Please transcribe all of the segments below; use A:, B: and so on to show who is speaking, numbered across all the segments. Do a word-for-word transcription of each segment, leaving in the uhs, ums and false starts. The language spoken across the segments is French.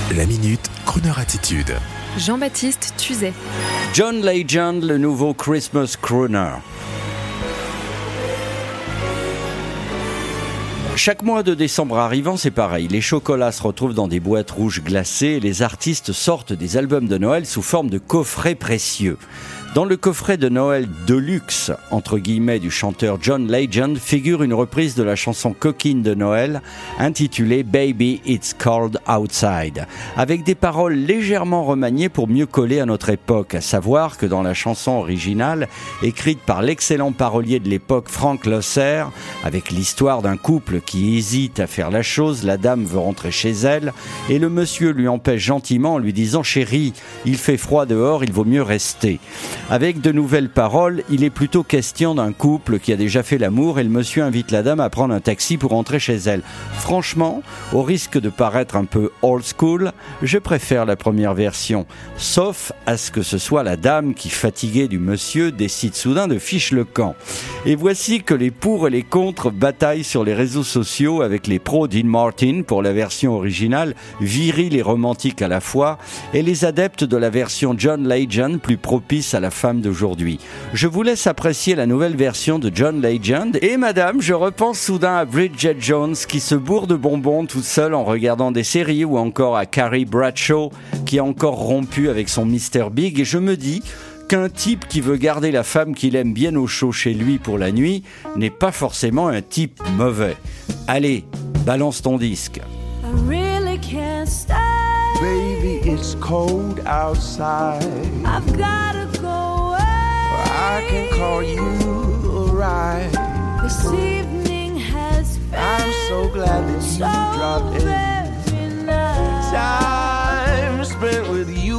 A: La Minute, Crooner Attitude.
B: Jean-Baptiste Tuzet.
C: John Legend, le nouveau Christmas crooner. Chaque mois de décembre arrivant, c'est pareil. Les chocolats se retrouvent dans des boîtes rouges glacées et les artistes sortent des albums de Noël sous forme de coffrets précieux. Dans le coffret de Noël de luxe, entre guillemets, du chanteur John Legend, figure une reprise de la chanson coquine de Noël, intitulée Baby It's Cold Outside, avec des paroles légèrement remaniées pour mieux coller à notre époque, à savoir que dans la chanson originale, écrite par l'excellent parolier de l'époque Frank Loesser, avec l'histoire d'un couple qui hésite à faire la chose, la dame veut rentrer chez elle, et le monsieur lui empêche gentiment en lui disant « Chérie, il fait froid dehors, il vaut mieux rester ». Avec de nouvelles paroles, il est plutôt question d'un couple qui a déjà fait l'amour et le monsieur invite la dame à prendre un taxi pour rentrer chez elle. Franchement, au risque de paraître un peu old school, je préfère la première version, sauf à ce que ce soit la dame qui, fatiguée du monsieur, décide soudain de fiche le camp. Et voici que les pour et les contre bataillent sur les réseaux sociaux avec les pros Dean Martin pour la version originale, viril et romantique à la fois, et les adeptes de la version John Legend, plus propice à la femme d'aujourd'hui. Je vous laisse apprécier la nouvelle version de John Legend. Et madame, je repense soudain à Bridget Jones qui se bourre de bonbons toute seule en regardant des séries, ou encore à Carrie Bradshaw qui a encore rompu avec son mister Big, et je me dis qu'un type qui veut garder la femme qu'il aime bien au chaud chez lui pour la nuit n'est pas forcément un type mauvais. Allez, balance ton disque.
D: I really can't stay.
E: Baby, it's cold outside.
D: I've gotta go away.
E: I can call you a ride.
D: This evening has been
E: I'm so glad that you
D: so
E: dropped in.
D: very nice.
E: Time spent with you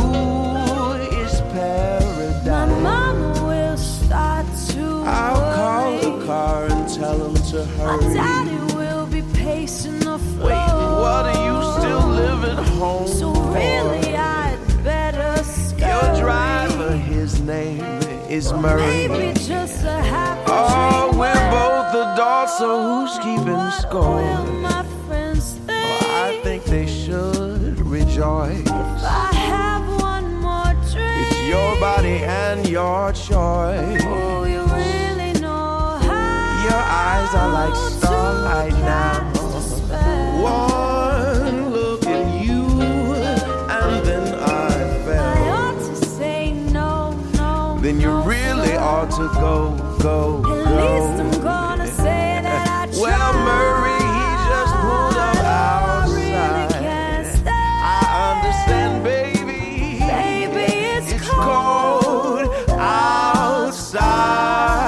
E: is
D: My
E: paradise.
D: mama will start to
E: I'll call
D: worry.
E: the car and tell him to
D: My
E: hurry.
D: daddy will be pacing the floor.
E: Wait, what are you still living home
D: So
E: for?
D: really I'd better scurry.
E: Your driver, his name is Murray.
D: Maybe just a happy
E: Oh,
D: dream.
E: we're both adults, so who's keeping
D: What
E: score?
D: will my friends think?
E: Oh, I think they should rejoice.
D: If I have one more drink.
E: It's your body and your choice.
D: Oh, you really know how.
E: Your eyes are like starlight
D: to
E: now.
D: cast a spell.
E: One look at you, and then I
D: I
E: fell.
D: ought to say no, no,
E: Then you
D: no,
E: really
D: no.
E: ought to go, go,
D: At least I'm
E: go.
D: gonna say that I tried.
E: Well, Murray, he just pulled up
D: I really
E: outside.
D: can't stay.
E: I understand, baby.
D: Baby, it's,
E: It's
D: cold.
E: cold outside.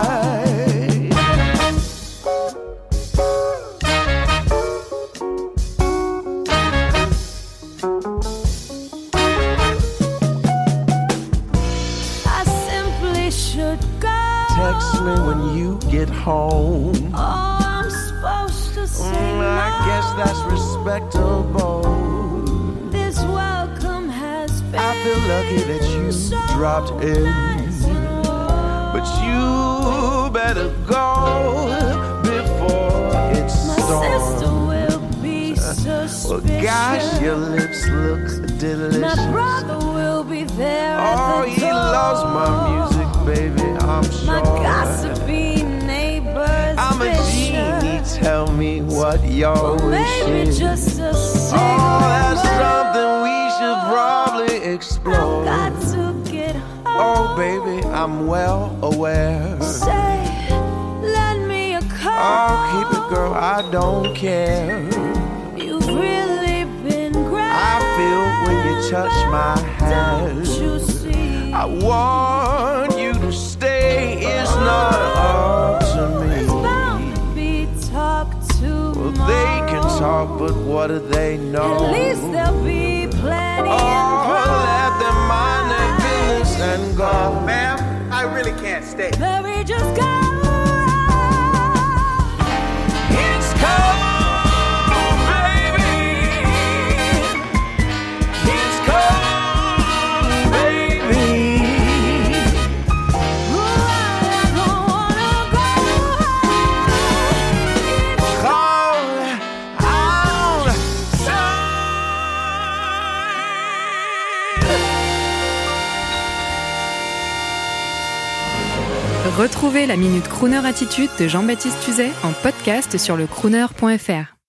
D: I simply should go.
E: Text me when you get home.
D: Oh, I'm supposed to say
E: Mm,
D: no.
E: I guess that's respectable.
D: This welcome has been
E: I feel lucky that you
D: so
E: dropped in.
D: nice and warm.
E: But you better go before it
D: My sister
E: storms.
D: will be
E: Well,
D: suspicious.
E: gosh, your lips look delicious.
D: My brother will be there
E: Oh,
D: at the
E: he
D: door.
E: loves my music, baby, I'm
D: My
E: sure.
D: gossipy neighbors
E: I'm a genie,
D: vicious.
E: tell me what your wish
D: Maybe
E: is.
D: just a
E: Oh, that's
D: cigarette.
E: something we should probably
D: I've
E: explore.
D: got to get home.
E: Oh, baby, I'm well aware.
D: Say, lend me a call.
E: Oh, keep it, girl, I don't care.
D: You've really been great.
E: I feel when you touch my hand.
D: Don't you see?
E: I want you to stay, it's not up to
D: There's bound
E: me.
D: to be talk
E: Well,
D: tomorrow.
E: they can talk, but what do they know?
D: At least there'll be plenty in
E: Oh, let them mind their
D: pride.
E: business and go.
F: Ma'am, I really can't stay.
D: Baby, just go.
E: It's cold, baby. It's cold, baby.
D: Oh, I don't wanna go. It's
E: Cold outside.
B: Retrouvez la Minute Crooner Attitude de Jean-Baptiste Tuzet en podcast sur le crooner point f r.